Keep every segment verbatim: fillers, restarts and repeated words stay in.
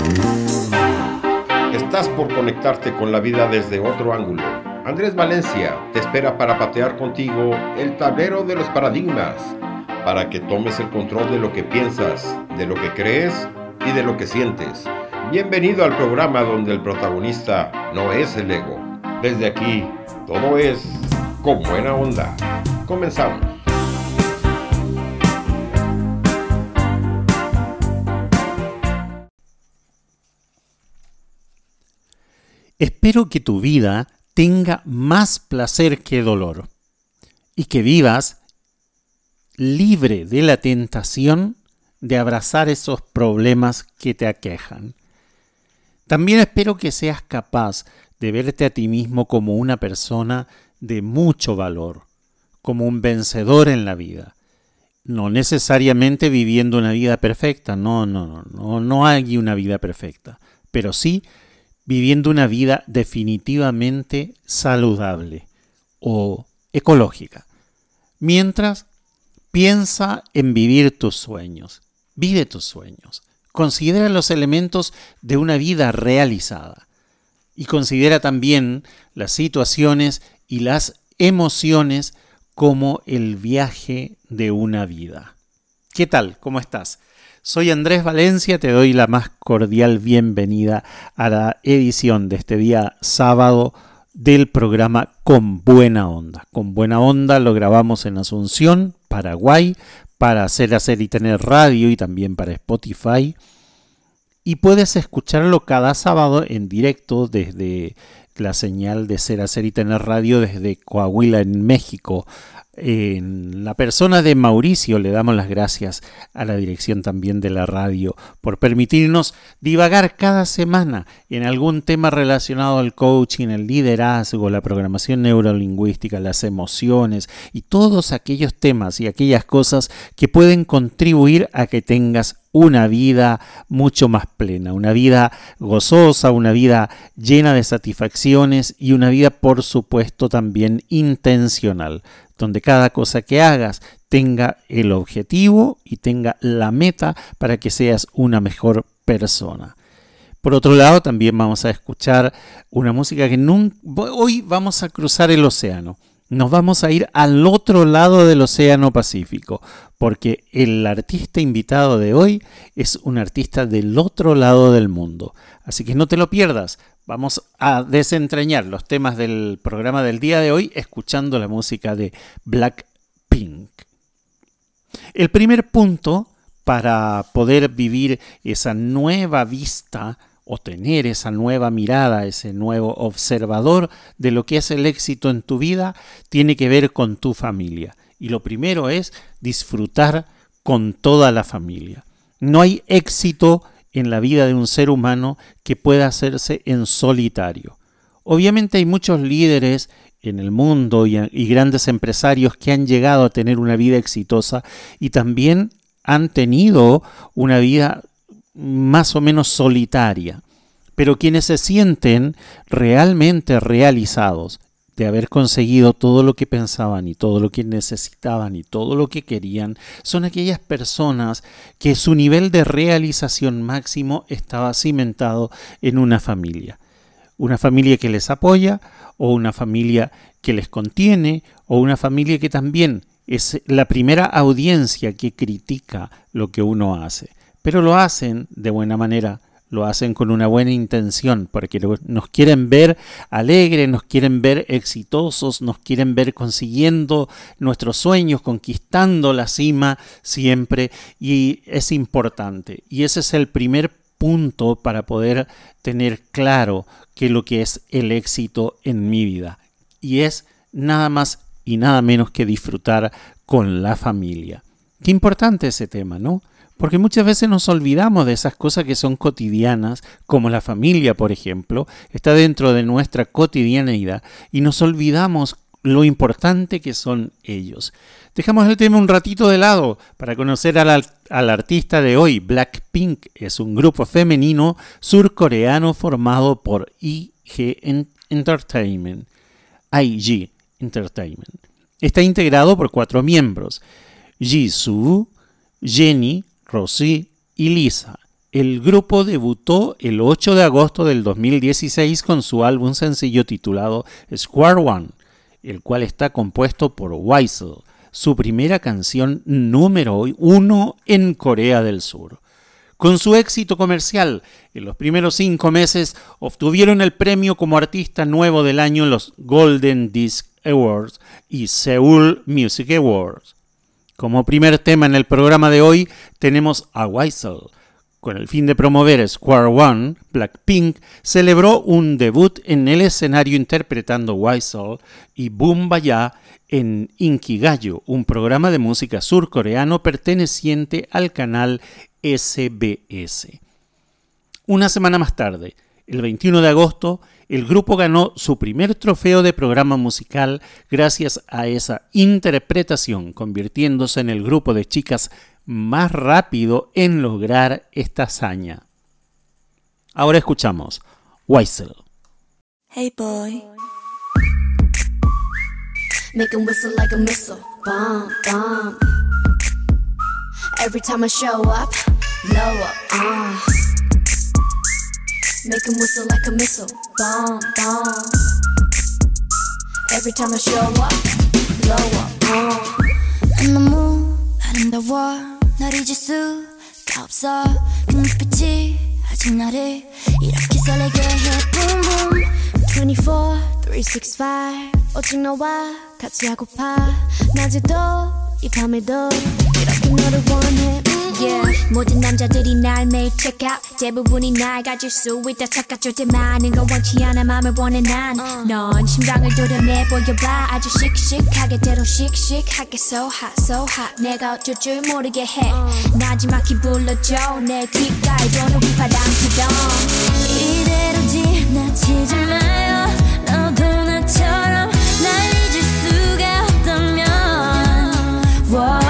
Estás por conectarte con la vida desde otro ángulo. Andrés Valencia te espera para patear contigo el tablero de los paradigmas, para que tomes el control de lo que piensas, de lo que crees y de lo que sientes. Bienvenido al programa donde el protagonista no es el ego. Desde aquí, todo es con buena onda. Comenzamos. Espero que tu vida tenga más placer que dolor y que vivas libre de la tentación de abrazar esos problemas que te aquejan. También espero que seas capaz de verte a ti mismo como una persona de mucho valor, como un vencedor en la vida. No necesariamente viviendo una vida perfecta, no, no, no, no, no hay una vida perfecta, pero sí viviendo una vida definitivamente saludable o ecológica. Mientras, piensa en vivir tus sueños. Vive tus sueños. Considera los elementos de una vida realizada. Y considera también las situaciones y las emociones como el viaje de una vida. ¿Qué tal? ¿Cómo estás? Soy Andrés Valencia, te doy la más cordial bienvenida a la edición de este día sábado del programa Con Buena Onda. Con Buena Onda lo grabamos en Asunción, Paraguay, para hacer, hacer y tener radio y también para Spotify. Y puedes escucharlo cada sábado en directo desde la señal de Ser, Hacer y Tener Radio desde Coahuila, en México. En la persona de Mauricio le damos las gracias a la dirección también de la radio por permitirnos divagar cada semana en algún tema relacionado al coaching, el liderazgo, la programación neurolingüística, las emociones y todos aquellos temas y aquellas cosas que pueden contribuir a que tengas una vida mucho más plena, una vida gozosa, una vida llena de satisfacciones y una vida, por supuesto, también intencional, donde cada cosa que hagas tenga el objetivo y tenga la meta para que seas una mejor persona. Por otro lado, también vamos a escuchar una música que nunca... Hoy vamos a cruzar el océano. Nos vamos a ir al otro lado del Océano Pacífico, porque el artista invitado de hoy es un artista del otro lado del mundo. Así que no te lo pierdas. Vamos a desentrañar los temas del programa del día de hoy escuchando la música de Blackpink. El primer punto para poder vivir esa nueva vista o tener esa nueva mirada, ese nuevo observador de lo que es el éxito en tu vida, tiene que ver con tu familia. Y lo primero es disfrutar con toda la familia. No hay éxito en la vida de un ser humano que pueda hacerse en solitario. Obviamente hay muchos líderes en el mundo y, y grandes empresarios que han llegado a tener una vida exitosa y también han tenido una vida más o menos solitaria, pero quienes se sienten realmente realizados de haber conseguido todo lo que pensaban y todo lo que necesitaban y todo lo que querían, son aquellas personas que su nivel de realización máximo estaba cimentado en una familia. Una familia que les apoya o una familia que les contiene o una familia que también es la primera audiencia que critica lo que uno hace. Pero lo hacen de buena manera, lo hacen con una buena intención, porque nos quieren ver alegres, nos quieren ver exitosos, nos quieren ver consiguiendo nuestros sueños, conquistando la cima siempre, y es importante. Y ese es el primer punto para poder tener claro qué es lo que es el éxito en mi vida. Y es nada más y nada menos que disfrutar con la familia. Qué importante ese tema, ¿no? Porque muchas veces nos olvidamos de esas cosas que son cotidianas, como la familia, por ejemplo, está dentro de nuestra cotidianeidad y nos olvidamos lo importante que son ellos. Dejamos el tema un ratito de lado para conocer al, al artista de hoy. Blackpink es un grupo femenino surcoreano formado por I G Entertainment. I G Entertainment. Está integrado por cuatro miembros: Jisoo, Jennie, Rosie y Lisa. El grupo debutó el ocho de agosto del dos mil dieciséis con su álbum sencillo titulado Square One, el cual está compuesto por Weasel, su primera canción número uno en Corea del Sur. Con su éxito comercial, en los primeros cinco meses obtuvieron el premio como artista nuevo del año en los Golden Disc Awards y Seoul Music Awards. Como primer tema en el programa de hoy tenemos a Weasel. Con el fin de promover Square One, Blackpink celebró un debut en el escenario interpretando Weasel y Boom Baya en Inkigayo, un programa de música surcoreano perteneciente al canal S B S. Una semana más tarde, el veintiuno de agosto, el grupo ganó su primer trofeo de programa musical gracias a esa interpretación, convirtiéndose en el grupo de chicas más rápido en lograr esta hazaña. Ahora escuchamos Weasel. Hey boy, make him whistle like a missile, bomb, bomb. Every time I show up, blow up, uh. Make him whistle like a missile, bomb, bomb. Every time I show up, blow up, uh. 너무 아름다워 널 잊을 수가 없어 그 눈빛이 아직 나를 이렇게 설레게 해 boom boom twenty-four, three sixty-five 오직 너와 같이 하고파 낮에도 이 밤에도 이렇게 너를 원해 yeah. 모든 남자들이 날 매일 check out 대부분이 날 가질 수 있다 착각할 때 많은 건 원치 않아 맘을 원해 난 넌 심장을 도려내 보여봐 아주 씩씩하게 때로 씩씩하게 so hot so hot 내가 어쩔 줄 모르게 해 나지막히 불러줘 내 귓가에 도는 휘파람처럼 이대로 지나치지 마요 너도 나처럼 날 잊을 수가 없다면 Whoa.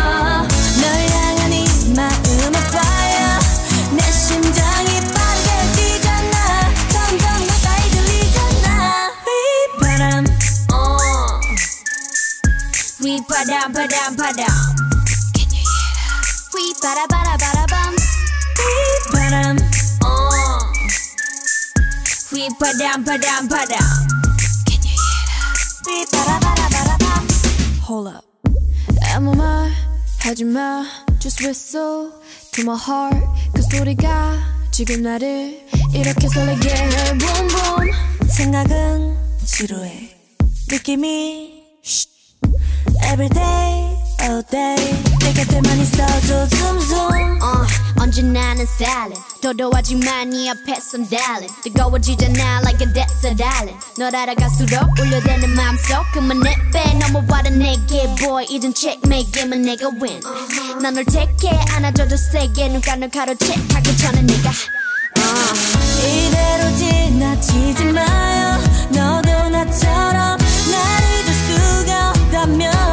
Padam, padam, padam. Can you hear that? We bada bada bada bum. We padam. Oh. We padam, padam, padam. Can you hear that? We bada bada bada bum. Hold up. 아무 말 하지 마. Just whistle to my heart. 그 소리가 지금 나를 이렇게 설레게 해. Boom boom. 생각은 지루해. 느낌이. Every day, all day 내 곁에만 있어도 zoom zoom uh, 언제나 난 styling 도도하지만 네 앞에선 darling 뜨거워지잖아 like a desert island 널 알아갈수록 울려대는 마음속 그만 내빼 넘어와라 내게 boy 이젠 checkmate 게임은 내가 win uh-huh. 난 널 take it 안아줘도 세게 눈가를 가로채 하기 전에 내가 uh. 이대로 지나치지 마요 너도 나처럼 날 잊을 수가 없다면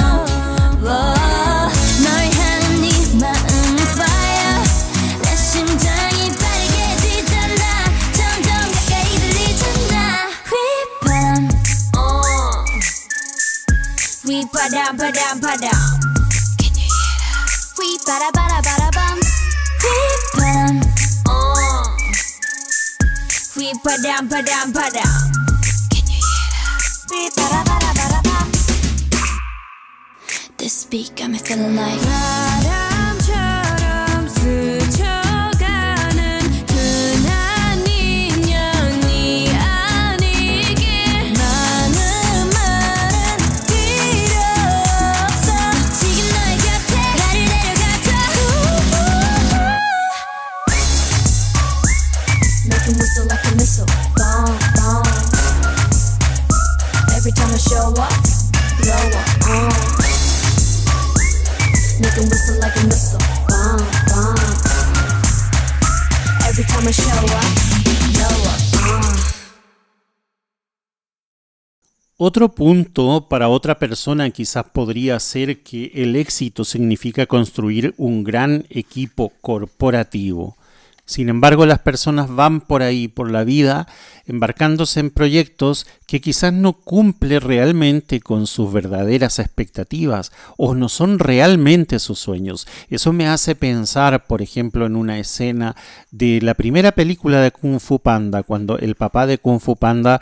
Padam, padam, padam. Can you hear that? We bada bada bada bum. We padam. Oh. We padam, padam, padam. Can you hear that? We bada bada bada bum. This beat got me feeling like 바람처럼 스쳐가는 흔한 인연이 아니길 많은 말은 필요 없어 지금 너의 곁에 나를 데려가줘 Make him whistle like a missile Bomb, bomb Every time I show up Blow up, uh Make him whistle like a missile, bomb, bomb. Every time I show up, blow up, uh. Otro punto para otra persona quizás podría ser que el éxito significa construir un gran equipo corporativo. Sin embargo, las personas van por ahí, por la vida, embarcándose en proyectos que quizás no cumplen realmente con sus verdaderas expectativas o no son realmente sus sueños. Eso me hace pensar, por ejemplo, en una escena de la primera película de Kung Fu Panda, cuando el papá de Kung Fu Panda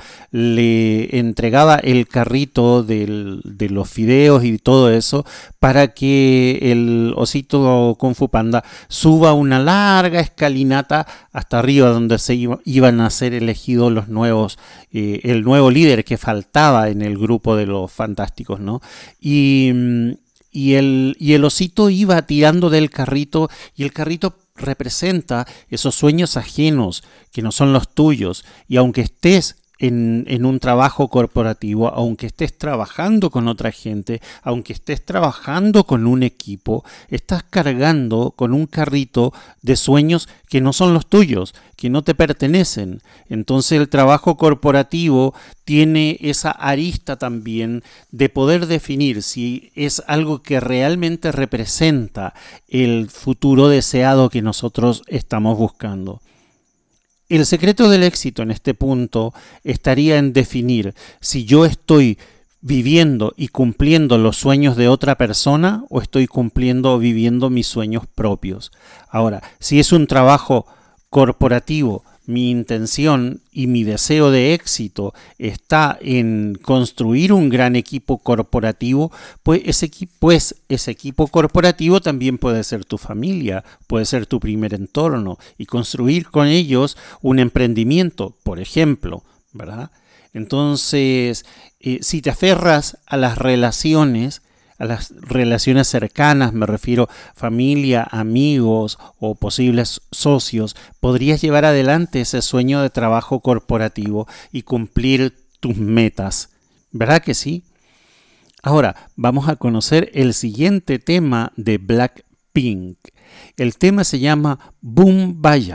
le entregaba el carrito del, de los fideos y todo eso para que el osito Kung Fu Panda suba una larga escalinata hasta arriba donde se iba, iban a ser elegidos los nuevos, eh, el nuevo líder que faltaba en el grupo de los fantásticos, ¿no? Y, y, el, y el osito iba tirando del carrito y el carrito representa esos sueños ajenos que no son los tuyos, y aunque estés En, en un trabajo corporativo, aunque estés trabajando con otra gente, aunque estés trabajando con un equipo, estás cargando con un carrito de sueños que no son los tuyos, que no te pertenecen. Entonces el trabajo corporativo tiene esa arista también de poder definir si es algo que realmente representa el futuro deseado que nosotros estamos buscando. El secreto del éxito en este punto estaría en definir si yo estoy viviendo y cumpliendo los sueños de otra persona o estoy cumpliendo o viviendo mis sueños propios. Ahora, si es un trabajo corporativo, mi intención y mi deseo de éxito está en construir un gran equipo corporativo, pues ese, pues ese equipo corporativo también puede ser tu familia, puede ser tu primer entorno, y construir con ellos un emprendimiento, por ejemplo, ¿verdad? Entonces, eh, si te aferras a las relaciones, a las relaciones cercanas, me refiero familia, amigos o posibles socios, podrías llevar adelante ese sueño de trabajo corporativo y cumplir tus metas. ¿Verdad que sí? Ahora, vamos a conocer el siguiente tema de Blackpink. El tema se llama Boom-Baya.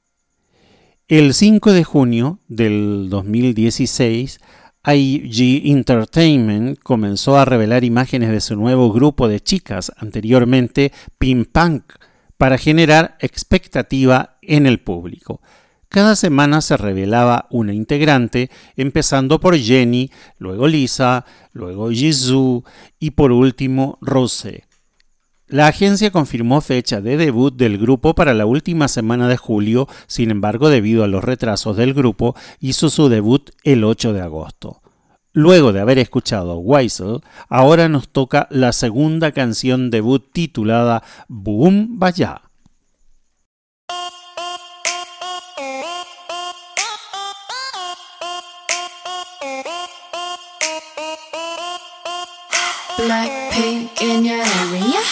El cinco de junio del dos mil dieciséis, I G Entertainment comenzó a revelar imágenes de su nuevo grupo de chicas, anteriormente P-Punk, para generar expectativa en el público. Cada semana se revelaba una integrante, empezando por Jennie, luego Lisa, luego Jisoo y por último Rosé. La agencia confirmó fecha de debut del grupo para la última semana de julio, sin embargo, debido a los retrasos del grupo, hizo su debut el ocho de agosto. Luego de haber escuchado Whistle, ahora nos toca la segunda canción debut titulada Boom-Baya. Blackpink in your area.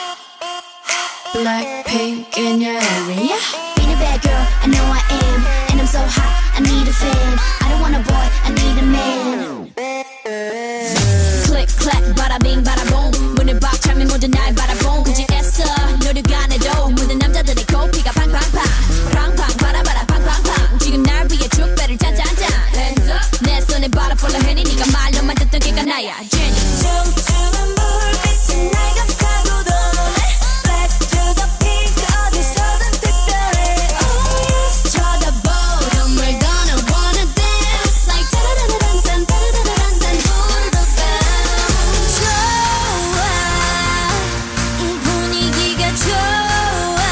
Blackpink in your area. Being a bad girl, I know I am. And I'm so hot, I need a fan. I don't want a boy, I need a man. Click, clack, bada bing, bada boom. 문을 박 차면 모든 날 바라본 그지 애써 노력 안 해도 모든 남자들의 코피가 팡팡팡 팡팡 바라바라 팡팡팡 지금 날 위해 축배를 짠짠짠 Hands up 내 손에 바라 폴라 해니 네가 말로만 듣던 걔가 나야 Jennie 춤추는 불빛은 날 감싸고 도네 Black to the pink 어디서든 특별해 Oh yes 쳐다보던 we're gonna wanna dance Like 따라라란딴 따라라란딴 who the bell 좋아 이 분위기가 좋아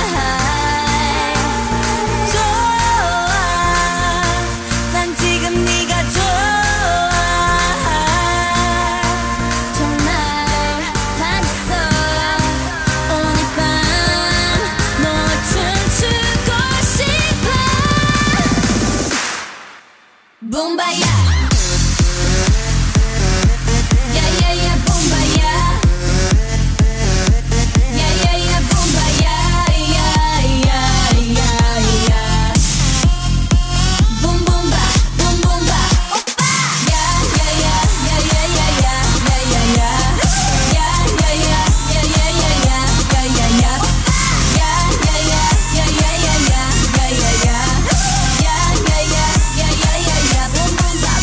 좋아 난 지금 네가 좋아 정말 반했어 오늘 밤 너와 춤추고 싶어 Boom-Baya Yeah yeah yeah Boom-Baya Yeah yeah yeah Boom-Baya Yeah yeah yeah yeah Boom boom ba boom boom ba Oppa Yeah yeah yeah yeah yeah yeah yeah yeah yeah yeah Yeah yeah yeah yeah yeah yeah yeah yeah yeah yeah Yeah yeah yeah yeah yeah yeah yeah yeah yeah yeah Yeah yeah yeah yeah yeah yeah yeah Boom boom ba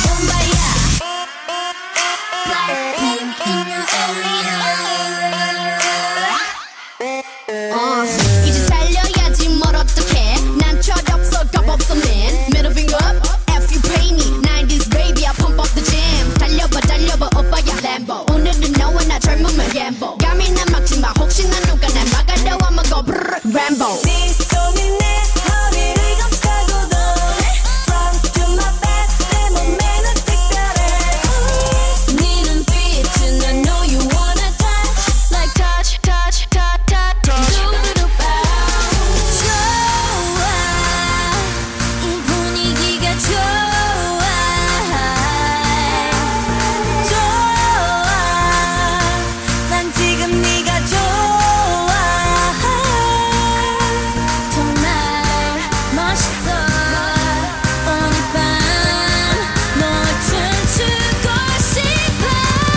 오늘 밤 널 춤추고 싶어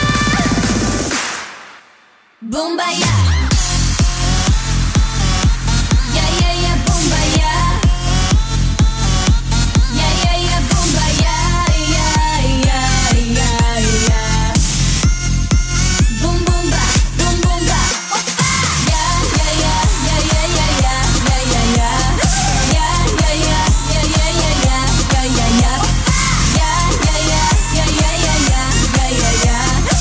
붐바야 야야야 붐바야 야야야 붐바야 야야야야 붐붐바 붐붐바 오빠 야야야 야야야야 야야야 야야야 야야야야 야야야 야야야 야야야야 야야야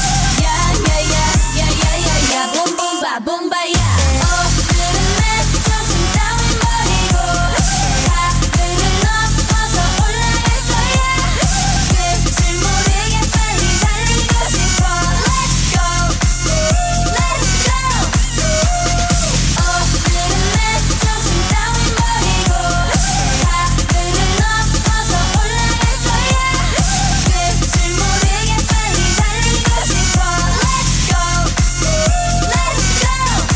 야야야 야야야야 붐붐바 붐바야 오늘은 내 정신 따윈 버리고 하늘을 넘어서 올라갈 거야 끝을 모르게 빨리 달리고 싶어 Let's go Let's go 오늘은 내 정신 따윈 버리고 하늘을 넘어서 올라갈 거야 끝을 모르게 빨리 달리고 싶어 Let's go Let's go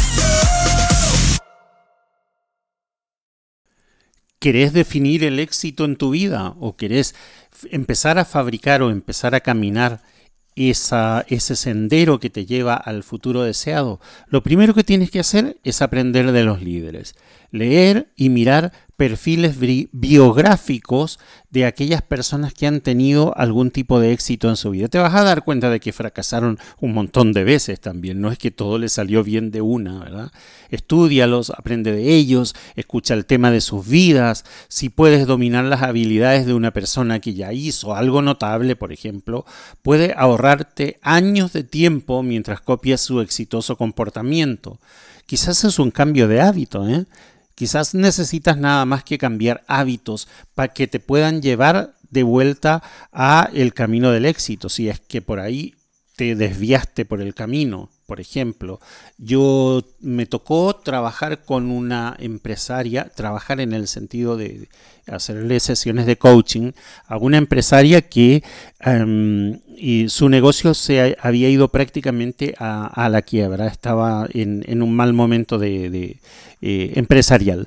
¿Querés definir el éxito en tu vida o querés f- empezar a fabricar o empezar a caminar esa, ese sendero que te lleva al futuro deseado? Lo primero que tienes que hacer es aprender de los líderes, leer y mirar perfiles bri- biográficos de aquellas personas que han tenido algún tipo de éxito en su vida. Te vas a dar cuenta de que fracasaron un montón de veces también, no es que todo les salió bien de una, ¿verdad? Estúdialos, aprende de ellos, escucha el tema de sus vidas. Si puedes dominar las habilidades de una persona que ya hizo algo notable, por ejemplo, puede ahorrarte años de tiempo mientras copias su exitoso comportamiento. Quizás es un cambio de hábito, ¿eh? Quizás necesitas nada más que cambiar hábitos para que te puedan llevar de vuelta a el camino del éxito, si es que por ahí te desviaste por el camino. Por ejemplo, yo me tocó trabajar con una empresaria, trabajar en el sentido de hacerle sesiones de coaching a una empresaria que um, y su negocio se había ido prácticamente a, a la quiebra, estaba en, en un mal momento de, de eh, empresarial.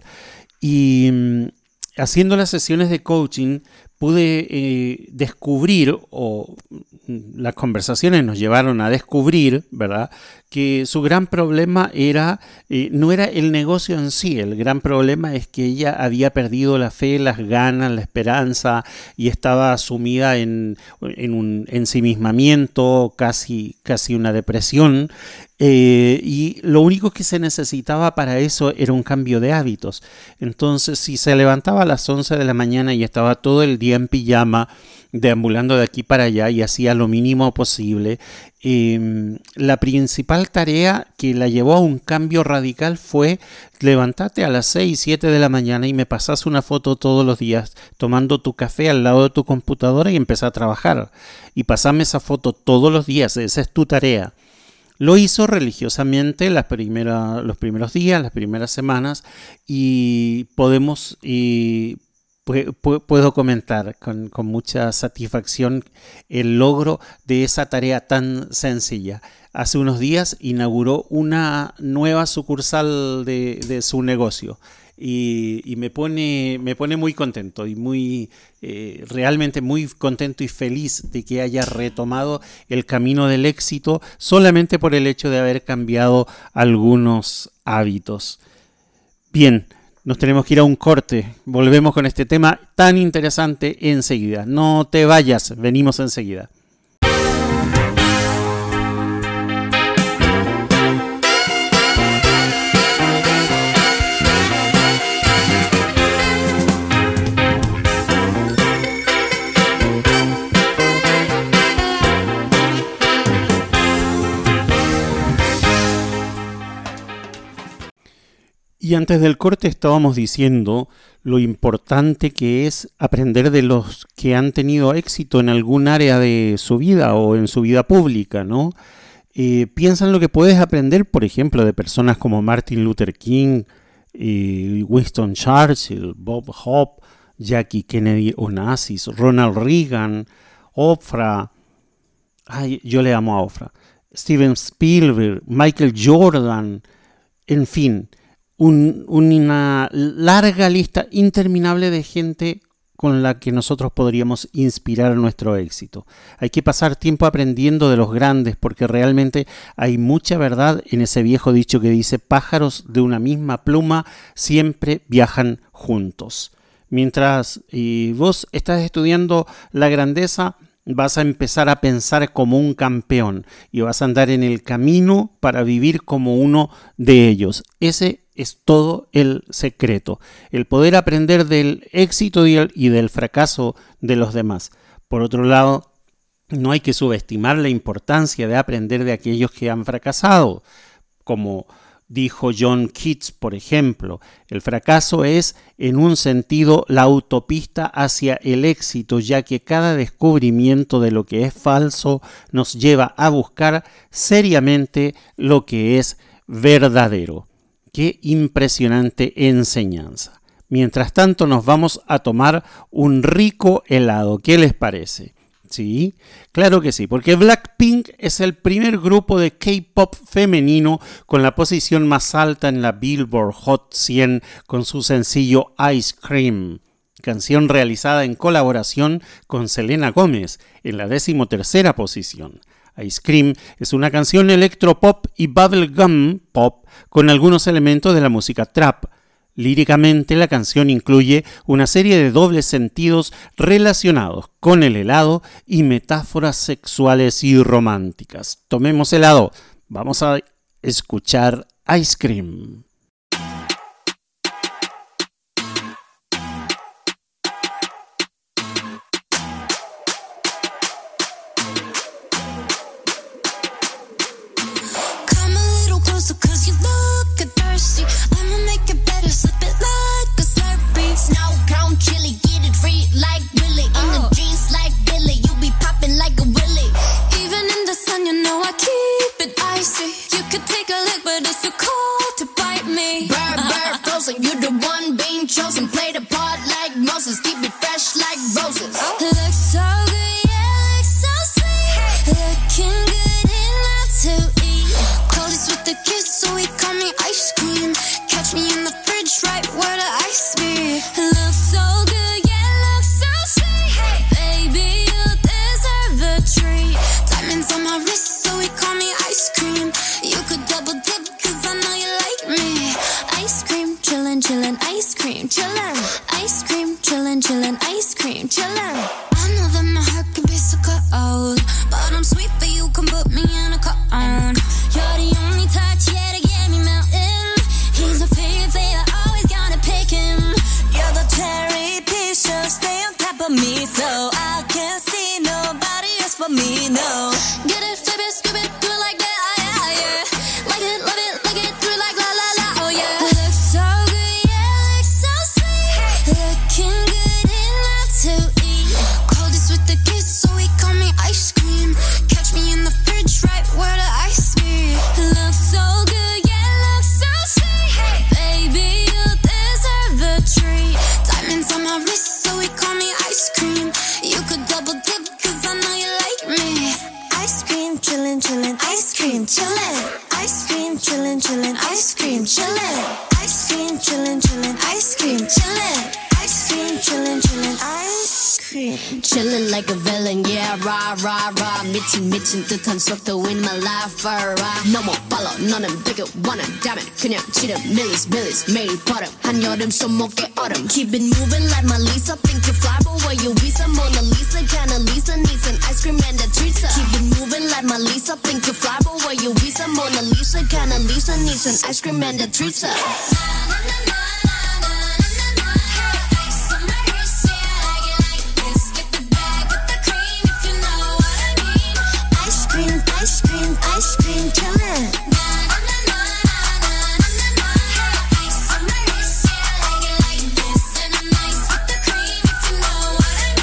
Y um, haciendo las sesiones de coaching pude eh, descubrir, o las conversaciones nos llevaron a descubrir, ¿verdad?, que su gran problema era, eh, no era el negocio en sí, el gran problema es que ella había perdido la fe, las ganas, la esperanza y estaba sumida en, en un ensimismamiento, casi, casi una depresión. Eh, y lo único que se necesitaba para eso era un cambio de hábitos. Entonces, si se levantaba a las once de la mañana y estaba todo el día en pijama, deambulando de aquí para allá y hacía lo mínimo posible, eh, la principal tarea que la llevó a un cambio radical fue: levántate a las seis, siete de la mañana y me pasas una foto todos los días tomando tu café al lado de tu computadora y empezá a trabajar. Y pasame esa foto todos los días, esa es tu tarea. Lo hizo religiosamente las primera, los primeros días, las primeras semanas, y podemos y pu- pu- puedo comentar con, con mucha satisfacción el logro de esa tarea tan sencilla. Hace unos días inauguró una nueva sucursal de, de su negocio. Y, y me pone me pone muy contento y muy eh, realmente muy contento y feliz de que haya retomado el camino del éxito solamente por el hecho de haber cambiado algunos hábitos. Bien, nos tenemos que ir a un corte. Volvemos con este tema tan interesante enseguida. No te vayas, venimos enseguida. Y antes del corte estábamos diciendo lo importante que es aprender de los que han tenido éxito en algún área de su vida o en su vida pública, ¿no? Eh, piensa en lo que puedes aprender, por ejemplo, de personas como Martin Luther King, eh, Winston Churchill, Bob Hope, Jackie Kennedy Onassis, Ronald Reagan, Oprah, ay, yo le amo a Oprah, Steven Spielberg, Michael Jordan, en fin. un, una larga lista interminable de gente con la que nosotros podríamos inspirar nuestro éxito. Hay que pasar tiempo aprendiendo de los grandes, porque realmente hay mucha verdad en ese viejo dicho que dice: pájaros de una misma pluma siempre viajan juntos. Mientras y vos estás estudiando la grandeza, vas a empezar a pensar como un campeón y vas a andar en el camino para vivir como uno de ellos. Ese es todo el secreto, el poder aprender del éxito y del fracaso de los demás. Por otro lado, no hay que subestimar la importancia de aprender de aquellos que han fracasado. Como dijo John Keats, por ejemplo, el fracaso es, en un sentido, la autopista hacia el éxito, ya que cada descubrimiento de lo que es falso nos lleva a buscar seriamente lo que es verdadero. ¡Qué impresionante enseñanza! Mientras tanto, nos vamos a tomar un rico helado. ¿Qué les parece? ¿Sí? Claro que sí, porque Blackpink es el primer grupo de K-pop femenino con la posición más alta en la Billboard Hot cien con su sencillo Ice Cream, canción realizada en colaboración con Selena Gómez en la decimotercera posición. Ice Cream es una canción electropop y bubblegum pop con algunos elementos de la música trap. Líricamente, la canción incluye una serie de dobles sentidos relacionados con el helado y metáforas sexuales y románticas. Tomemos helado. Vamos a escuchar Ice Cream. 듯한 속도 in my life alright 너무 빨라 너는 되게 원해 damn it 그냥 치름 millies millies 매일 버릇 한여름 손목에 얼음 Keep it moving like my Lisa Think you fly but where you visa Mona Lisa kinda Lisa needs an ice cream and a treat Keep it moving like my Lisa Think you fly but where you visa Mona Lisa kinda Lisa needs an ice cream and a treat Ice cream, ice cream, chillin'.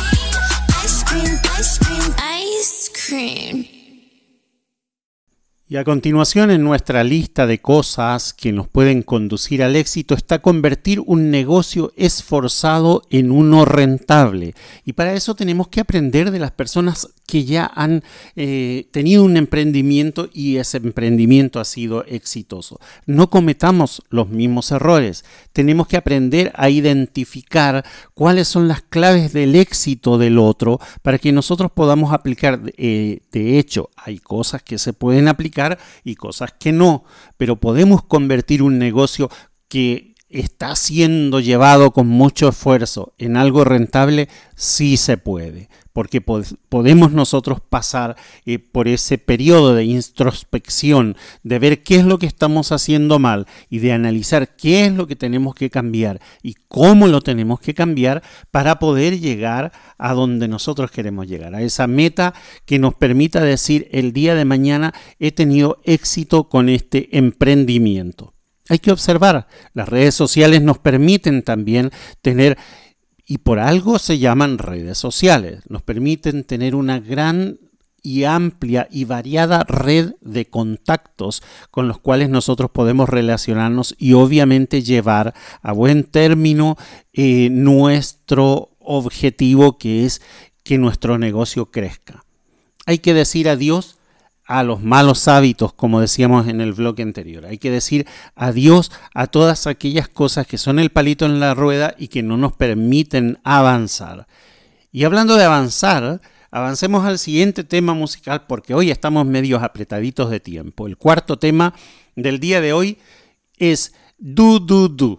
Ice cream, ice cream, ice cream. Y a continuación en nuestra lista de cosas que nos pueden conducir al éxito está convertir un negocio esforzado en uno rentable. Y para eso tenemos que aprender de las personas que ya han eh, tenido un emprendimiento y ese emprendimiento ha sido exitoso. No cometamos los mismos errores. Tenemos que aprender a identificar cuáles son las claves del éxito del otro para que nosotros podamos aplicar. Eh, de hecho, hay cosas que se pueden aplicar y cosas que no, pero podemos convertir un negocio que está siendo llevado con mucho esfuerzo en algo rentable. Sí se puede, porque pod- podemos nosotros pasar eh, por ese periodo de introspección, de ver qué es lo que estamos haciendo mal y de analizar qué es lo que tenemos que cambiar y cómo lo tenemos que cambiar para poder llegar a donde nosotros queremos llegar, a esa meta que nos permita decir el día de mañana he tenido éxito con este emprendimiento. Hay que observar, las redes sociales nos permiten también tener, y por algo se llaman redes sociales, nos permiten tener una gran y amplia y variada red de contactos con los cuales nosotros podemos relacionarnos y obviamente llevar a buen término eh, nuestro objetivo, que es que nuestro negocio crezca. Hay que decir adiós a los malos hábitos, como decíamos en el bloque anterior. Hay que decir adiós a todas aquellas cosas que son el palito en la rueda y que no nos permiten avanzar. Y hablando de avanzar, avancemos al siguiente tema musical porque hoy estamos medios apretaditos de tiempo. El cuarto tema del día de hoy es Du Du Du.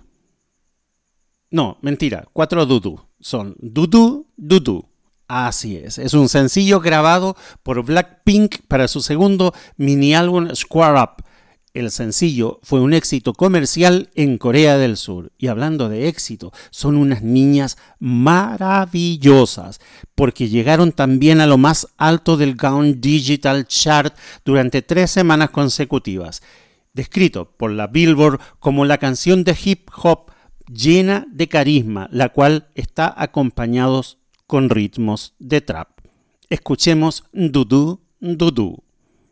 No, mentira, cuatro Du Du. Son Du Du Du Du. Así es, es un sencillo grabado por Blackpink para su segundo mini álbum Square Up. El sencillo fue un éxito comercial en Corea del Sur. Y hablando de éxito, son unas niñas maravillosas porque llegaron también a lo más alto del Gaon Digital Chart durante tres semanas consecutivas. Descrito por la Billboard como la canción de hip hop llena de carisma, la cual está acompañados con ritmos de trap. Escuchemos Du Du Du Du.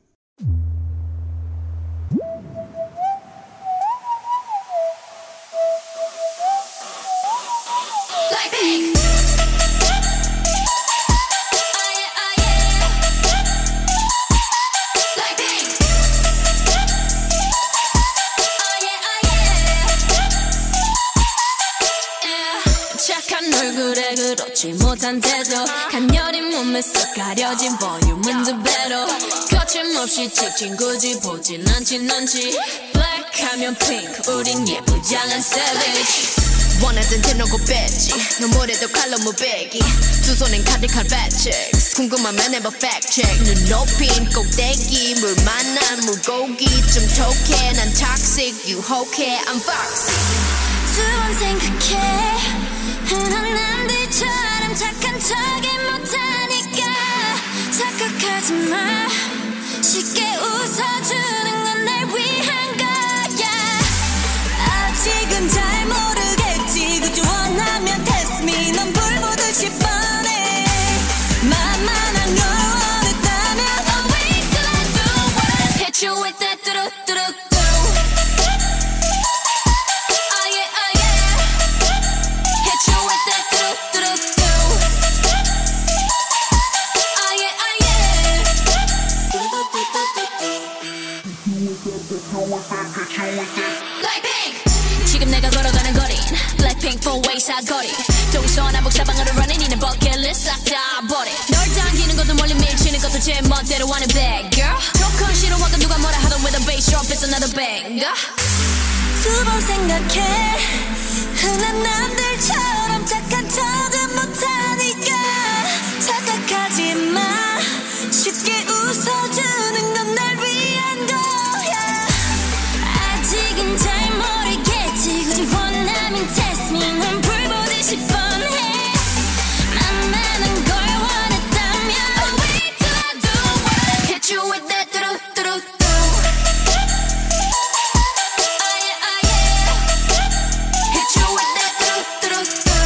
그렇지 못한 태도 간녀린 몸에 쏙 가려진 볼륨은 두 배로 거침없이 찍힌 굳이 보진 않지 넌지 블랙하면 핑크 우린 예쁘장한 savage 원하던 대놓고 뺐지 눈물에도 칼로 무배기 두 손엔 가득한 fat chicks 궁금하면 해봐 fact check 눈 높인 꼭대기 물 만난 물고기 좀 톡해 난 toxic 유혹해 I'm foxy 두 번 생각해 흔한 남들처럼 착한 척이 못하니까 착각하지 마 쉽게 웃어주는 건 날 위한 거야 아직은 잘 모르겠지 그저 원하면 test me 넌 불 보듯이 뻔해 만만한 걸 원했다면 I'll wait till I do what hit you with that 뚜루뚜루 지금 내가 걸어가는 거린 Blackpink four-way 사거리 동서남북 사방으로 running 이는 버킷리스트 싹 다 버려 널 당기는 것도 멀리 밀치는 것도 제 멋대로 하는 bad girl 조건 싫어하고 누가 뭐라 하던 with a bass drop it's another banger 두 번 생각해 흔한 남들처럼 착한 척은 못하니까 착각하지 마 쉽게 웃어주는 건 날 위한 거야 아직은 잘 모르겠지 굳이 원하면 test me 난 불 보듯이 뻔해 만만한 걸 원했다면 I'll wait till I do what hit you with that 뚜루뚜루 Oh yeah, oh yeah Hit you with that 뚜루뚜루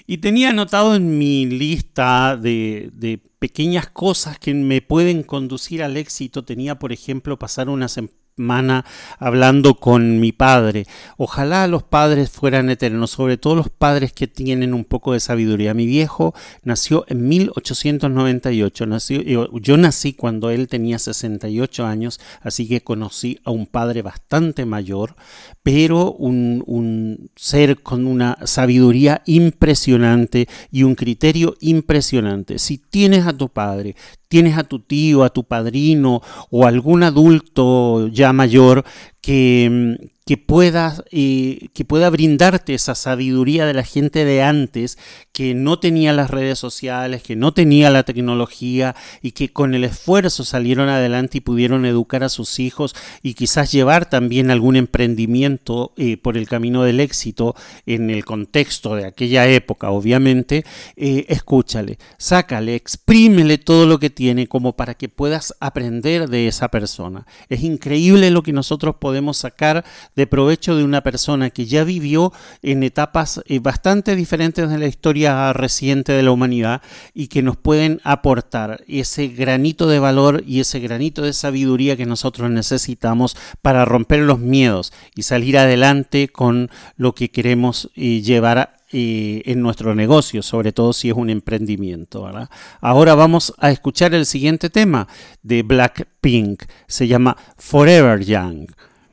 Y tenía anotado en mi lista de, de pequeñas cosas que me pueden conducir al éxito. Tenía, por ejemplo, pasar una semana hablando con mi padre. Ojalá los padres fueran eternos, sobre todo los padres que tienen un poco de sabiduría. Mi viejo nació en mil ochocientos noventa y ocho. Nació, yo, yo nací cuando él tenía sesenta y ocho años, así que conocí a un padre bastante mayor, pero un, un ser con una sabiduría impresionante y un criterio impresionante. Si tienes a tu padre, tienes a tu tío, a tu padrino o algún adulto ya mayor que, que, pueda, eh, que pueda brindarte esa sabiduría de la gente de antes, que no tenía las redes sociales, que no tenía la tecnología y que con el esfuerzo salieron adelante y pudieron educar a sus hijos y quizás llevar también algún emprendimiento eh, por el camino del éxito en el contexto de aquella época, obviamente. Eh, escúchale, sácale, exprímele todo lo que tiene como para que puedas aprender de esa persona. Es increíble lo que nosotros podemos sacar de provecho de una persona que ya vivió en etapas eh, bastante diferentes de la historia reciente de la humanidad y que nos pueden aportar ese granito de valor y ese granito de sabiduría que nosotros necesitamos para romper los miedos y salir adelante con lo que queremos eh, llevar a Eh, en nuestro negocio, sobre todo si es un emprendimiento, ¿verdad? Ahora vamos a escuchar el siguiente tema de Blackpink, se llama Forever Young.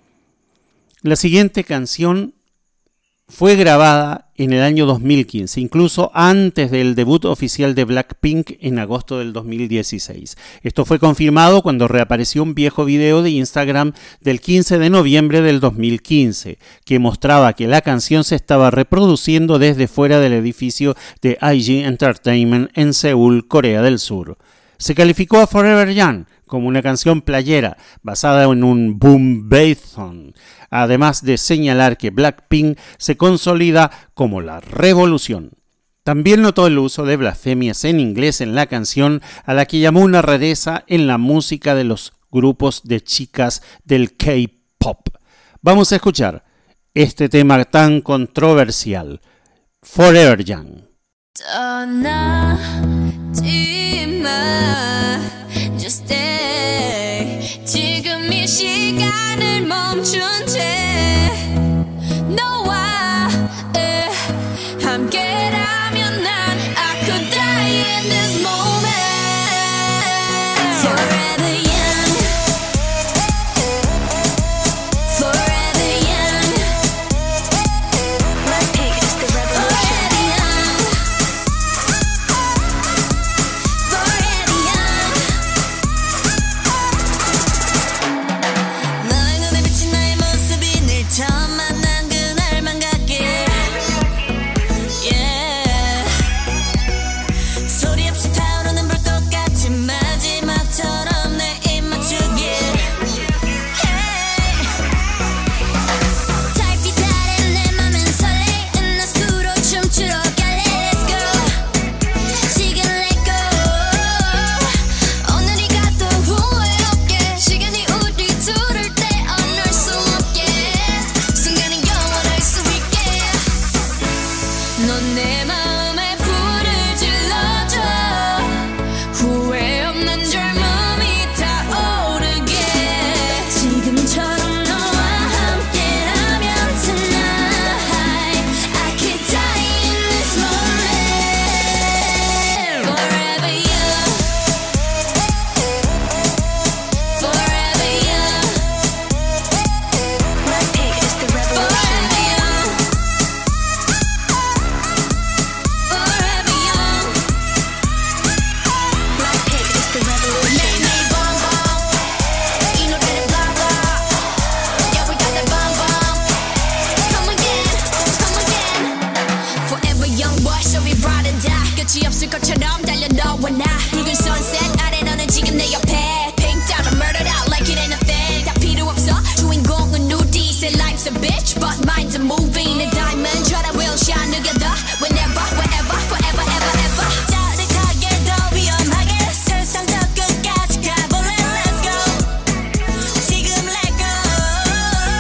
La siguiente canción fue grabada en el año dos mil quince, incluso antes del debut oficial de Blackpink en agosto del dos mil dieciséis. Esto fue confirmado cuando reapareció un viejo video de Instagram del quince de noviembre del dos mil quince, que mostraba que la canción se estaba reproduciendo desde fuera del edificio de I G Entertainment en Seúl, Corea del Sur. Se calificó a Forever Young como una canción playera basada en un boom bap song, además de señalar que Blackpink se consolida como la revolución. También notó el uso de blasfemias en inglés en la canción, a la que llamó una rareza en la música de los grupos de chicas del K-pop. Vamos a escuchar este tema tan controversial, Forever Young. Just stay. 지금 이 시간을 멈춘 채 너와 에, 함께라면 난 I could die in this moment. Forever young, forever young. Blackpink is the revolution.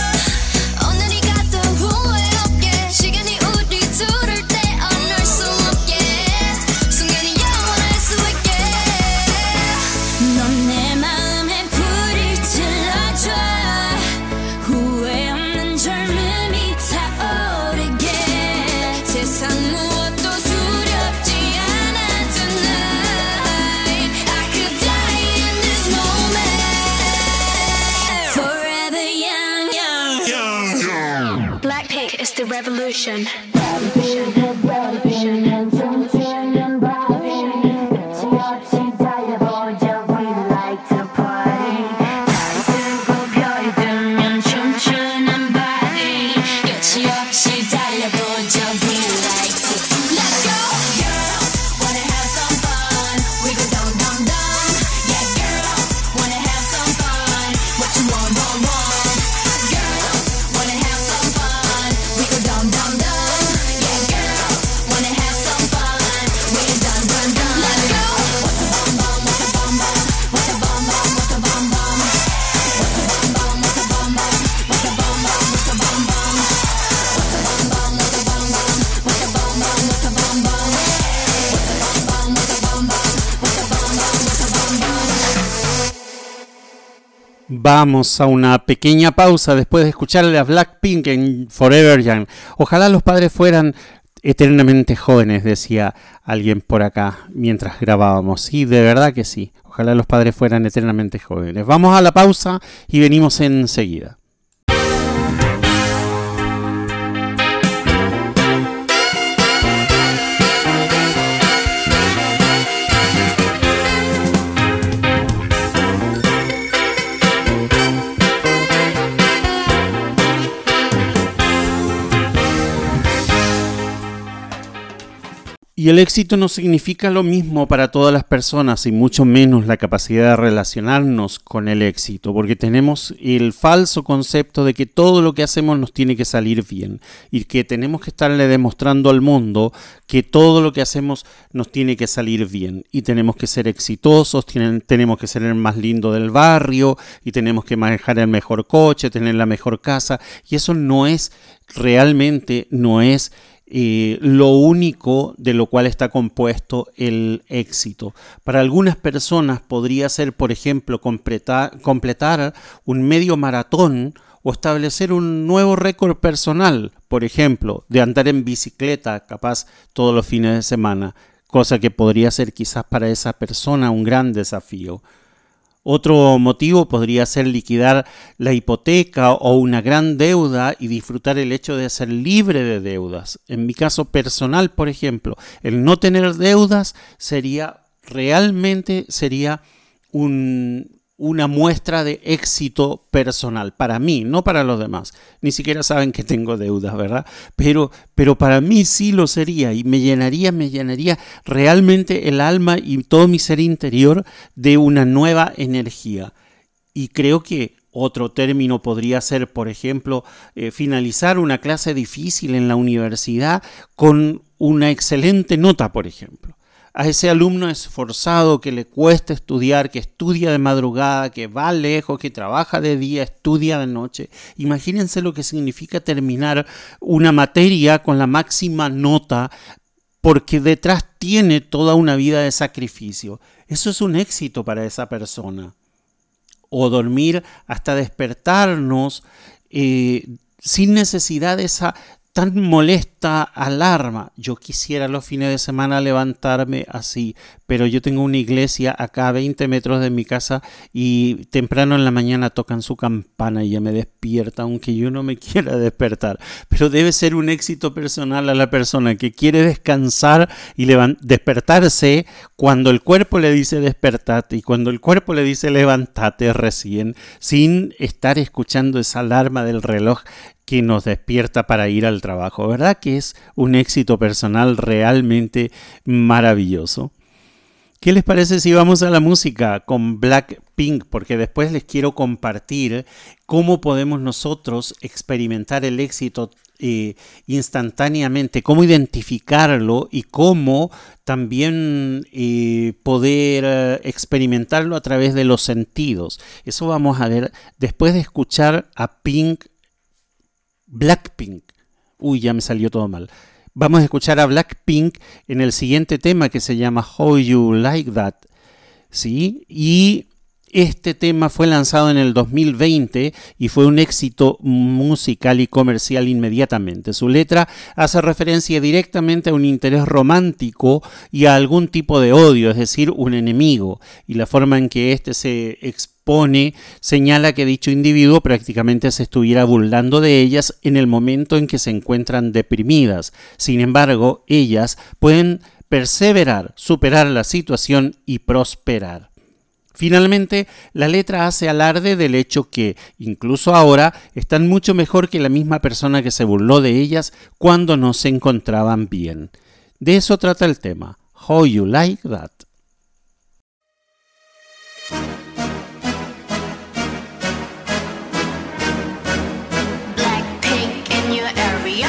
So It's the revolution. Revolution. Revolution. Vamos a una pequeña pausa después de escucharle a Blackpink en Forever Young. Ojalá los padres fueran eternamente jóvenes, decía alguien por acá mientras grabábamos. Sí, de verdad que sí. Ojalá los padres fueran eternamente jóvenes. Vamos a la pausa y venimos enseguida. Y el éxito no significa lo mismo para todas las personas y mucho menos la capacidad de relacionarnos con el éxito, porque tenemos el falso concepto de que todo lo que hacemos nos tiene que salir bien y que tenemos que estarle demostrando al mundo que todo lo que hacemos nos tiene que salir bien y tenemos que ser exitosos, tienen, tenemos que ser el más lindo del barrio y tenemos que manejar el mejor coche, tener la mejor casa, y eso no es, realmente no es Eh, lo único de lo cual está compuesto el éxito. Para algunas personas podría ser, por ejemplo, completar, completar un medio maratón o establecer un nuevo récord personal, por ejemplo, de andar en bicicleta, capaz todos los fines de semana, cosa que podría ser quizás para esa persona un gran desafío. Otro motivo podría ser liquidar la hipoteca o una gran deuda y disfrutar el hecho de ser libre de deudas. En mi caso personal, por ejemplo, el no tener deudas sería realmente sería un, una muestra de éxito personal para mí, no para los demás. Ni siquiera saben que tengo deudas, ¿verdad? Pero, pero para mí sí lo sería y me llenaría, me llenaría realmente el alma y todo mi ser interior de una nueva energía. Y creo que otro término podría ser, por ejemplo, eh, finalizar una clase difícil en la universidad con una excelente nota, por ejemplo. A ese alumno esforzado que le cuesta estudiar, que estudia de madrugada, que va lejos, que trabaja de día, estudia de noche. Imagínense lo que significa terminar una materia con la máxima nota, porque detrás tiene toda una vida de sacrificio. Eso es un éxito para esa persona. O dormir hasta despertarnos eh, sin necesidad de esa tan molesta alarma. Yo quisiera los fines de semana levantarme así, pero yo tengo una iglesia acá a veinte metros de mi casa y temprano en la mañana tocan su campana y ya me despierta, aunque yo no me quiera despertar. Pero debe ser un éxito personal a la persona que quiere descansar y despertarse cuando el cuerpo le dice despertate y cuando el cuerpo le dice levántate recién, sin estar escuchando esa alarma del reloj que nos despierta para ir al trabajo. ¿Verdad que es un éxito personal realmente maravilloso? ¿Qué les parece si vamos a la música con Blackpink? Porque después les quiero compartir cómo podemos nosotros experimentar el éxito eh, instantáneamente, cómo identificarlo y cómo también eh, poder eh, experimentarlo a través de los sentidos. Eso vamos a ver después de escuchar a Pink Blackpink. Uy, ya me salió todo mal. Vamos a escuchar a Blackpink en el siguiente tema que se llama How You Like That. ¿Sí? Y Este tema fue lanzado en el dos mil veinte y fue un éxito musical y comercial inmediatamente. Su letra hace referencia directamente a un interés romántico y a algún tipo de odio, es decir, un enemigo, y la forma en que éste se expone señala que dicho individuo prácticamente se estuviera burlando de ellas en el momento en que se encuentran deprimidas. Sin embargo, ellas pueden perseverar, superar la situación y prosperar. Finalmente, la letra hace alarde del hecho que, incluso ahora, están mucho mejor que la misma persona que se burló de ellas cuando no se encontraban bien. De eso trata el tema, How You Like That. Blackpink in your area.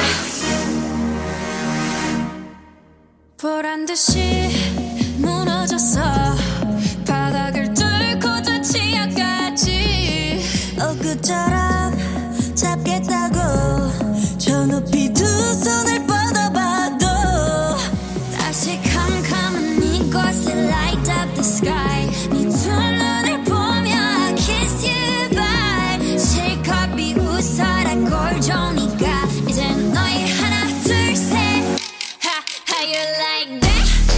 보란 듯이 무너졌어. 바닥을 뚫고 저 지하까지 엊그처럼 잡겠다고 저 높이 두 손을 뻗어봐도 다시 캄캄한 이곳에 light up the sky 네 두 눈을 보며 I kiss you bye 실컷 비웃어라 꼴 좋으니까 이젠 너희 하나 둘 셋 How you like that?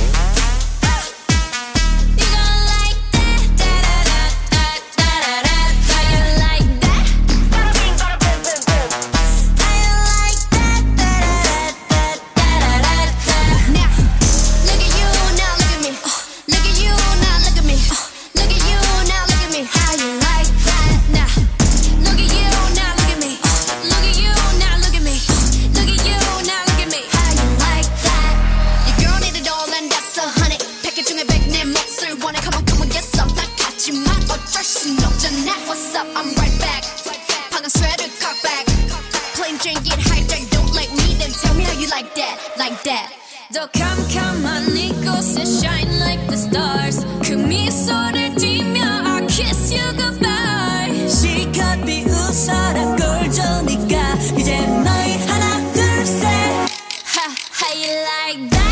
더 캄캄한 이곳에 shine like the stars 그 미소를 띠며 I kiss you goodbye 실컷 비웃어라 꼴 좋으니까 이제 너희 하나 둘 셋 Ha, how you like that?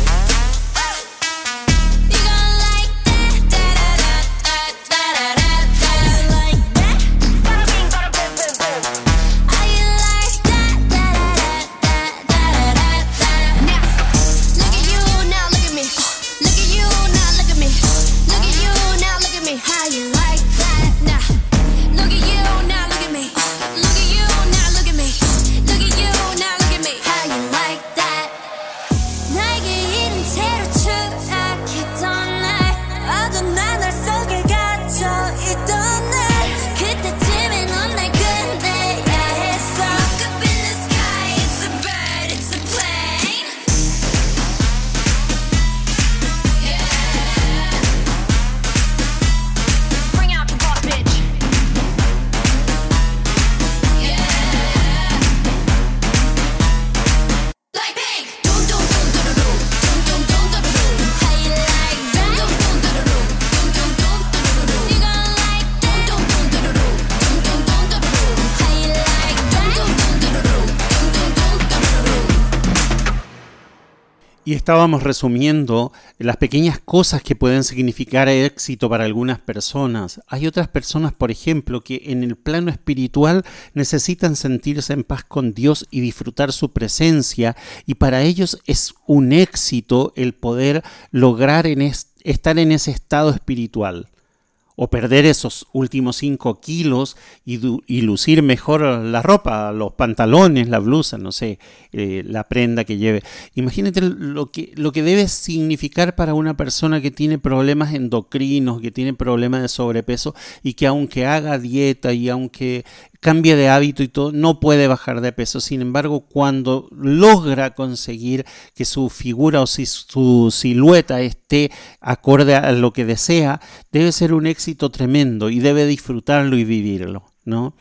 Y estábamos resumiendo las pequeñas cosas que pueden significar éxito para algunas personas. Hay otras personas, por ejemplo, que en el plano espiritual necesitan sentirse en paz con Dios y disfrutar su presencia, y para ellos es un éxito el poder lograr en es, estar en ese estado espiritual. O perder esos últimos cinco kilos y, y lucir mejor la ropa, los pantalones, la blusa, no sé, eh, la prenda que lleve. Imagínate lo que, lo que debe significar para una persona que tiene problemas endocrinos, que tiene problemas de sobrepeso y que aunque haga dieta y aunque cambie de hábito y todo, no puede bajar de peso. Sin embargo, cuando logra conseguir que su figura o si su silueta esté acorde a lo que desea, debe ser un éxito tremendo y debe disfrutarlo y vivirlo, ¿no?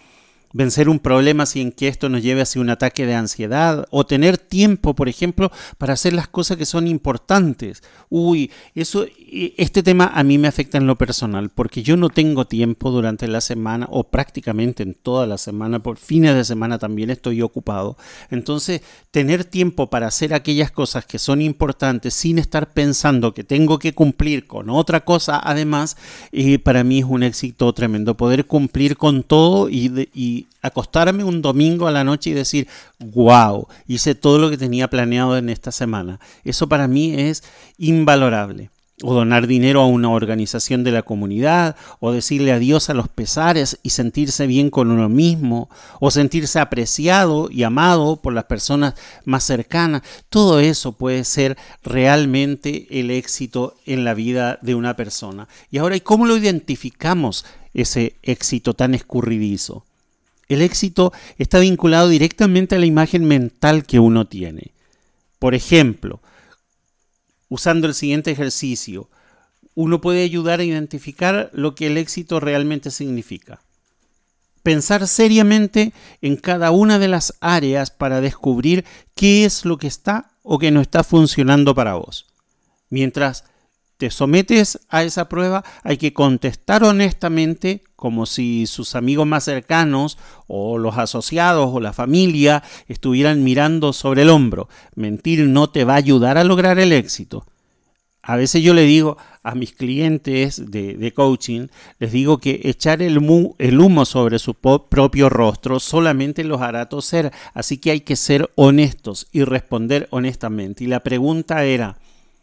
vencer un problema sin que esto nos lleve hacia un ataque de ansiedad, o tener tiempo, por ejemplo, para hacer las cosas que son importantes. Uy, eso, este tema a mí me afecta en lo personal, porque yo no tengo tiempo durante la semana, o prácticamente en toda la semana, por fines de semana también estoy ocupado. Entonces, tener tiempo para hacer aquellas cosas que son importantes sin estar pensando que tengo que cumplir con otra cosa, además, eh, para mí es un éxito tremendo. Poder cumplir con todo y, de, y acostarme un domingo a la noche y decir, wow, hice todo lo que tenía planeado en esta semana. Eso para mí es invalorable. O donar dinero a una organización de la comunidad, o decirle adiós a los pesares y sentirse bien con uno mismo, o sentirse apreciado y amado por las personas más cercanas. Todo eso puede ser realmente el éxito en la vida de una persona. Y ahora, ¿y cómo lo identificamos, ese éxito tan escurridizo? El éxito está vinculado directamente a la imagen mental que uno tiene. Por ejemplo, usando el siguiente ejercicio, uno puede ayudar a identificar lo que el éxito realmente significa. Pensar seriamente en cada una de las áreas para descubrir qué es lo que está o que no está funcionando para vos. Mientras te sometes a esa prueba, hay que contestar honestamente, como si sus amigos más cercanos o los asociados o la familia estuvieran mirando sobre el hombro. Mentir no te va a ayudar a lograr el éxito. A veces yo le digo a mis clientes de, de coaching, les digo que echar el, mu, el humo sobre su po, propio rostro solamente los hará toser. Así que hay que ser honestos y responder honestamente. Y la pregunta era,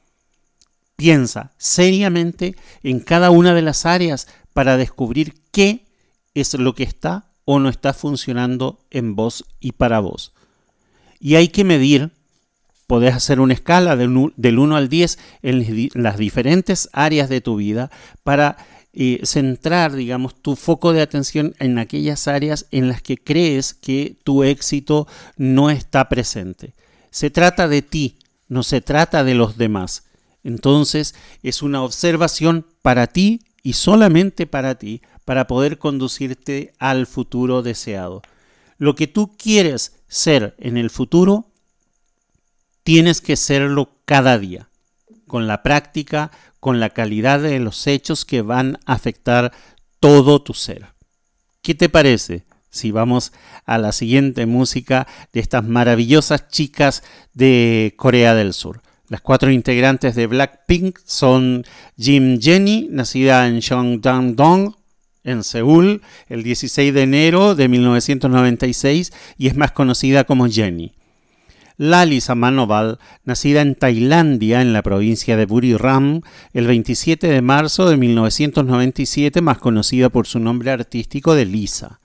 piensa seriamente en cada una de las áreas para descubrir qué es lo que está o no está funcionando en vos y para vos. Y hay que medir, podés hacer una escala del, del uno al diez en las diferentes áreas de tu vida para eh, centrar, digamos, tu foco de atención en aquellas áreas en las que crees que tu éxito no está presente. Se trata de ti, no se trata de los demás. Entonces, es una observación para ti y solamente para ti, para poder conducirte al futuro deseado. Lo que tú quieres ser en el futuro, tienes que serlo cada día, con la práctica, con la calidad de los hechos que van a afectar todo tu ser. ¿Qué te parece si vamos a la siguiente música de estas maravillosas chicas de Corea del Sur? Las cuatro integrantes de Blackpink son Jim Jenny, nacida en Cheongdam-dong, en Seúl, el dieciséis de enero de mil novecientos noventa y seis, y es más conocida como Jenny. Lali Samanoval, nacida en Tailandia, en la provincia de Buriram, el veintisiete de marzo de mil novecientos noventa y siete, más conocida por su nombre artístico de Lisa.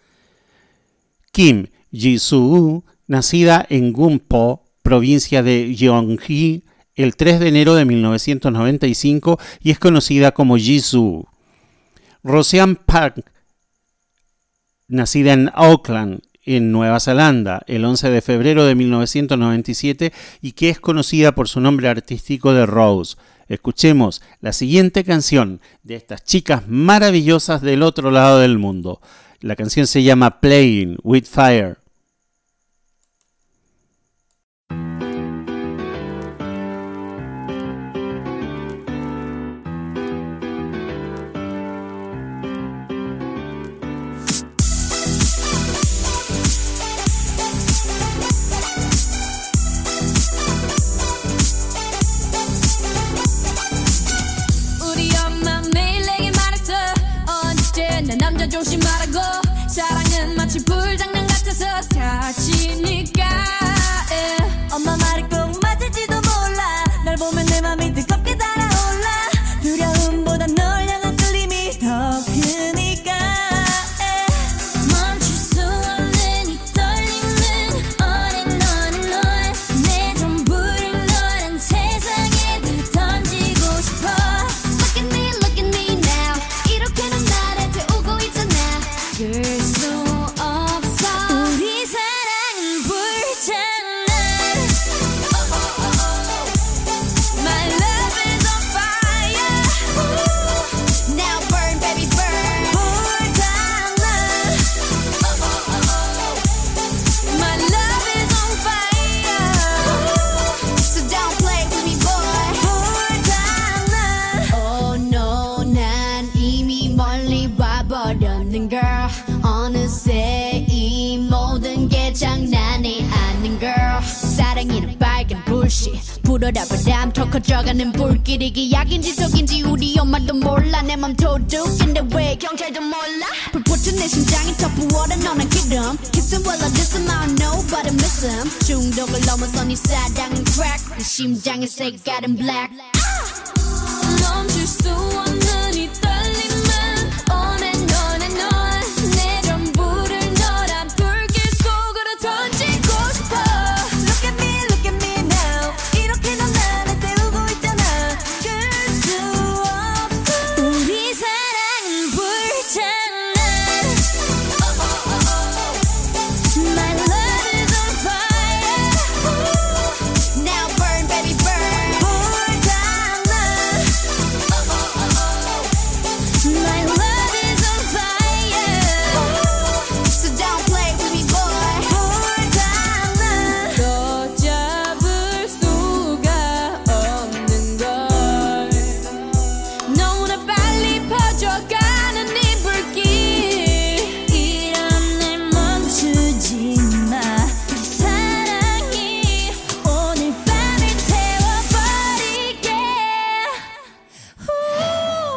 Kim Ji-soo, nacida en Gunpo, provincia de Gyeonggi, el tres de enero de mil novecientos noventa y cinco, y es conocida como Jisoo. Roseanne Park, nacida en Auckland, en Nueva Zelanda, el once de febrero de mil novecientos noventa y siete, y que es conocida por su nombre artístico de Rose. Escuchemos la siguiente canción de estas chicas maravillosas del otro lado del mundo. La canción se llama Playing with Fire. 조심하라고 사랑은 마치 불장난 같아서 울어라 더 커져가는 불길이 약인지 속인지 우리 엄마도 몰라 내 맘 도둑인데 왜 경찰도 몰라 불붙은 내 심장이 더 부어라 너는 기름 Kiss him while I diss him I don't know but I miss him 중독을 넘어서 네 사랑은 crack 네 심장의 색깔은 black 멈출 수 없는 이 떨림은 on and on and on 내 전부를 너란 불길 속으로 던지고 싶어 Look at me, look at me now 이렇게 넌 나를 태우고 있잖아 끌 수 없어 우리 사랑은 불장난 oh, oh, oh, oh. My love is on fire Ooh. Now burn baby burn 불장난 oh, oh, oh, oh. My love is on fire Ooh. So don't play with me boy 불장난 더 잡을 수가 없는 걸 너무나 빨리 퍼져가는 이 불길 이런 날 멈추지 마 사랑이 오늘 밤을 태워버리게 후.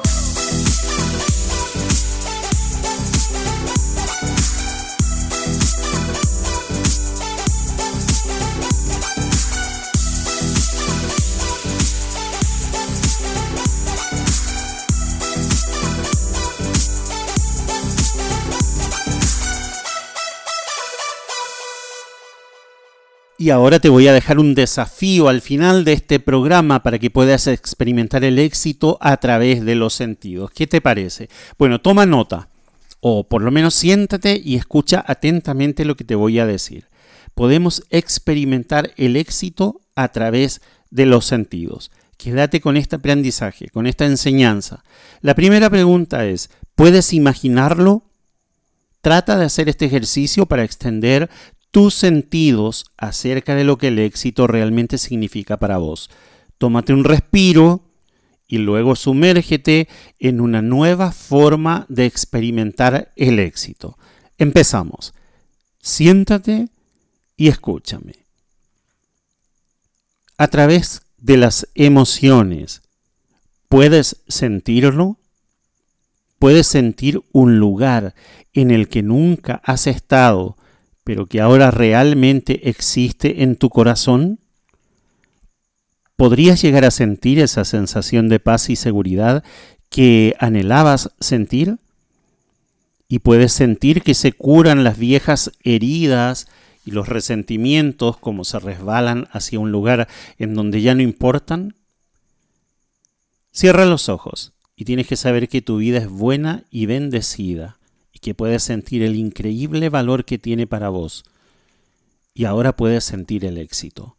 Y ahora te voy a dejar un desafío al final de este programa para que puedas experimentar el éxito a través de los sentidos. ¿Qué te parece? Bueno, toma nota, o por lo menos siéntate y escucha atentamente lo que te voy a decir. Podemos experimentar el éxito a través de los sentidos. Quédate con este aprendizaje, con esta enseñanza. La primera pregunta es, ¿puedes imaginarlo? Trata de hacer este ejercicio para extender tus sentidos acerca de lo que el éxito realmente significa para vos. Tómate un respiro y luego sumérgete en una nueva forma de experimentar el éxito. Empezamos. Siéntate y escúchame. A través de las emociones, ¿puedes sentirlo? ¿Puedes sentir un lugar en el que nunca has estado, pero que ahora realmente existe en tu corazón? ¿Podrías llegar a sentir esa sensación de paz y seguridad que anhelabas sentir? ¿Y puedes sentir que se curan las viejas heridas y los resentimientos como se resbalan hacia un lugar en donde ya no importan? Cierra los ojos y tienes que saber que tu vida es buena y bendecida, y que puedes sentir el increíble valor que tiene para vos. Y ahora puedes sentir el éxito.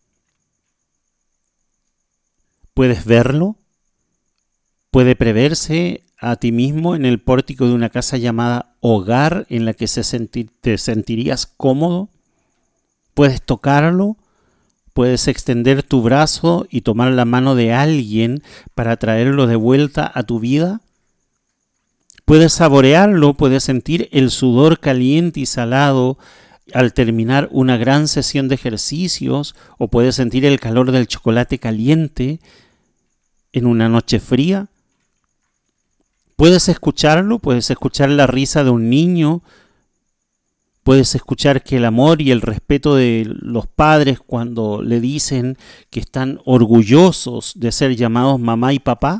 ¿Puedes verlo? ¿Puede preverse a ti mismo en el pórtico de una casa llamada hogar en la que se senti- te sentirías cómodo? ¿Puedes tocarlo? ¿Puedes extender tu brazo y tomar la mano de alguien para traerlo de vuelta a tu vida? Puedes saborearlo, puedes sentir el sudor caliente y salado al terminar una gran sesión de ejercicios, o puedes sentir el calor del chocolate caliente en una noche fría. Puedes escucharlo, puedes escuchar la risa de un niño, puedes escuchar que el amor y el respeto de los padres cuando le dicen que están orgullosos de ser llamados mamá y papá.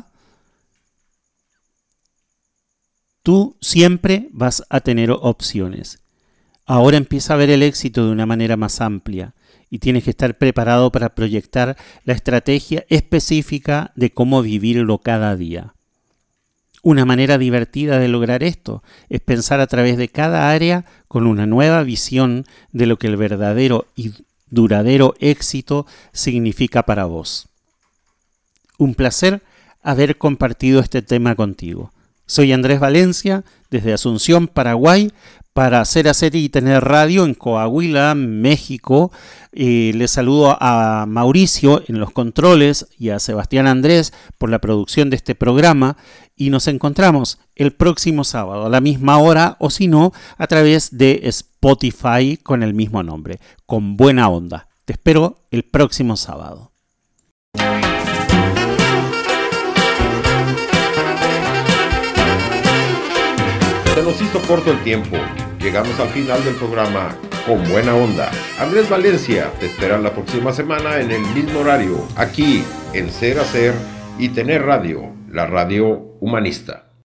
Tú siempre vas a tener opciones. Ahora empieza a ver el éxito de una manera más amplia y tienes que estar preparado para proyectar la estrategia específica de cómo vivirlo cada día. Una manera divertida de lograr esto es pensar a través de cada área con una nueva visión de lo que el verdadero y duradero éxito significa para vos. Un placer haber compartido este tema contigo. Soy Andrés Valencia, desde Asunción, Paraguay, para Hacer, Hacer y Tener Radio en Coahuila, México. Eh, les saludo a Mauricio en los controles y a Sebastián Andrés por la producción de este programa. Y nos encontramos el próximo sábado a la misma hora, o si no, a través de Spotify con el mismo nombre, con Buena Onda. Te espero el próximo sábado. Se nos hizo corto el tiempo. Llegamos al final del programa con buena onda. Andrés Valencia te espera la próxima semana en el mismo horario, aquí en Ser, Hacer y Tener Radio, la radio humanista.